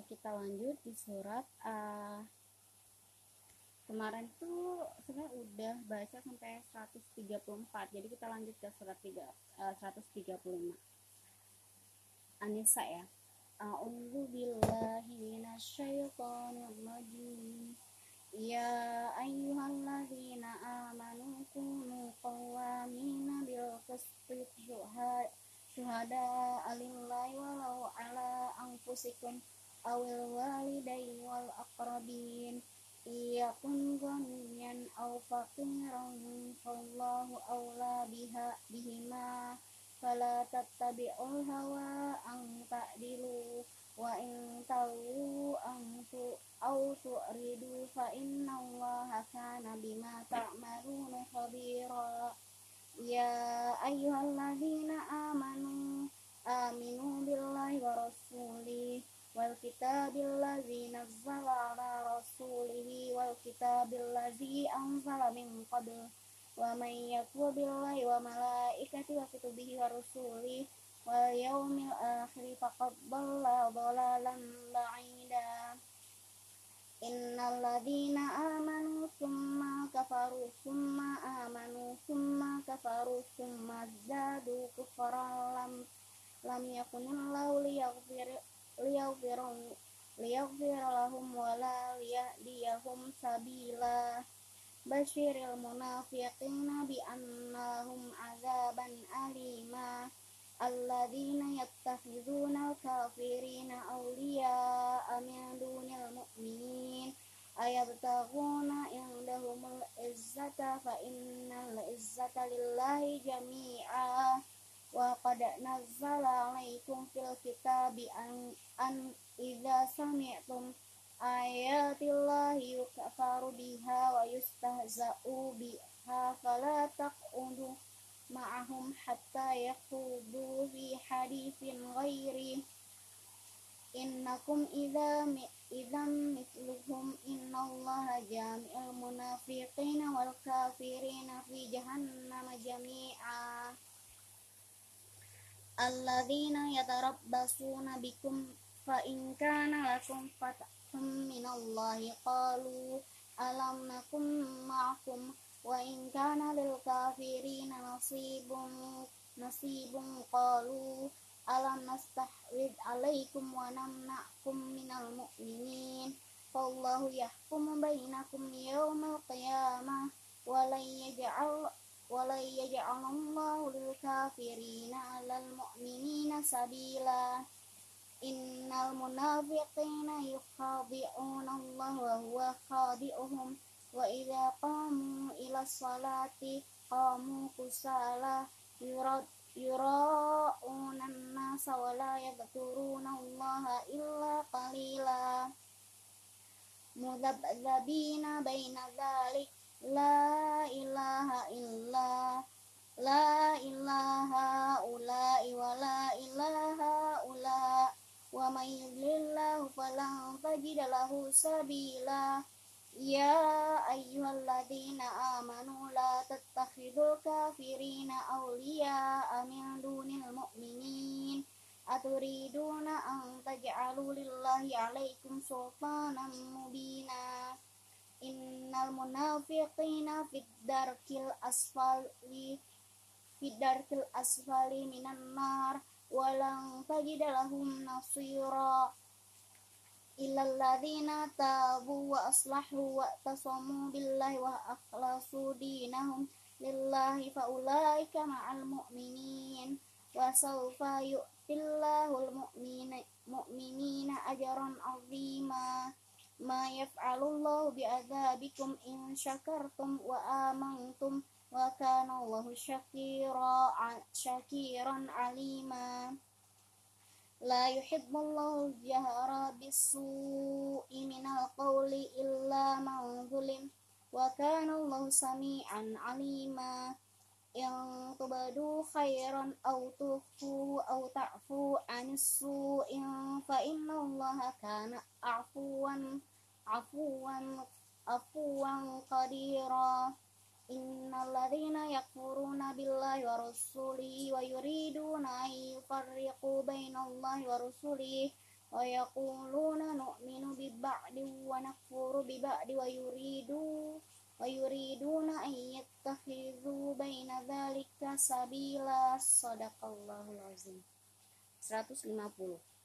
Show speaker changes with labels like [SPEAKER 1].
[SPEAKER 1] Kita lanjut di surat kemarin tuh sebenarnya udah baca sampai 134, jadi kita lanjut ke surat 135 An-Nisa ya. A'udzu billahi minasyaitonir rajim. Ya ayyuhalladzina amanu kunu qawwamina bil qisti syuhada'a lillahi walau ala anfusikum awil walidayni wal aqrabin iyakun ghaniyan aw faqiran fallahu awla bihima fala tattabi'ul hawa an ta'dilu wa in tawu aw tu'ridu fa innallaha kana bima ta'maluna khabira. Ya ayyuhalladzina aminu billahi wa rasulih wal kitabil ladzi nazzala ala rasulihi wal kitabil ladzi anzala min qabl wa man yakfur billahi wa malaikatihi wa kutubihi wa rusulihi wal yaumil akhir faqad dhalla dhalalan ba'ida. Innal ladzina amanu tsumma kafaru tsumma amanu tsumma kafaru tsumma zadu kufran lam yakunillahu liyaghfir lahum wa la liyahdiyahum sabila. Basyiril munafiqina bi annahum azaban alima. Alladzina yattakhiduna al-kafirina awliya'a min dunil mu'minin ayabtaghuna indahumul izzata fa innal izzata lillahi jami'a. Wa qad nazzala 'alaikum fil kitabi an idza sami'tum ayatillahi yukfaru biha wa yustahza'u biha fala taq'udu ma'ahum hatta yakhudu fi haditsin ghairi innakum idzan mithluhum innallaha jami'ul munafiqina wal kafirina fi jahannama jami'a. Alladzina yatarabbasuna bikum fa in kana lakum fathun minallahi qalu alam nakum ma'akum wa in kana lil kafirina nasibun qalu alam nastahwid alaikum wa namna'kum minal mu'minin fallahu yahkumu bainakum yawmal qiyamah wa la yaj'alallahu lil kafirina 'alal mu'minina sabila. Innal munafiqina yukhadi'una Allah wa huwa khadi'uhum wa idza qamu ila sholati qamu kusala yura'una an-nasa wa la yadhkuruna Allah illa qalila. Mudabdzabina baina dzalik la ilaha ula'i wa la ilaha ula wa may yudlilillahu falan tajida lahu sabila. Ya ayyuhalladzina amanu la tattakhidul kafirina awliya'a min dunil mu'minin aturiduna an taj'alu lillahi 'alaikum sultanan mubina. Innal munafiqina fid darkil asfali minan nar wa lan tajida lahum nasira illal ladzina tabu wa aslahu wa tasamu billahi wa akhlasu dinahum lillahi fa ulaika ma'al mu'minin wa sawfa yu'tillahul mu'minina ajran 'azima. Ma yaf'alullahu bi'adzabikum in syakartum wa amantum wa kana Allahu syakiran 'alima. La yuhibbullahu jahra bis-su'i minal qawli illa man zulim wa kana Allahu sami'an 'alima. In tubadu khairan aw tukhfu aw ta'fu 'anis su'in fa innallaha kana afuwan qadira. Innal ladzina yakfuruna billahi wa rasulihi wa yuriduna an yufarriqu bainallahi wa rasulihi wa yaquluna nu'minu bi ba'di wa nakfuru bi ba'di wa yuriduna an yattakhidhu baina dzalika sabila. Shadaqallahul azim. 150.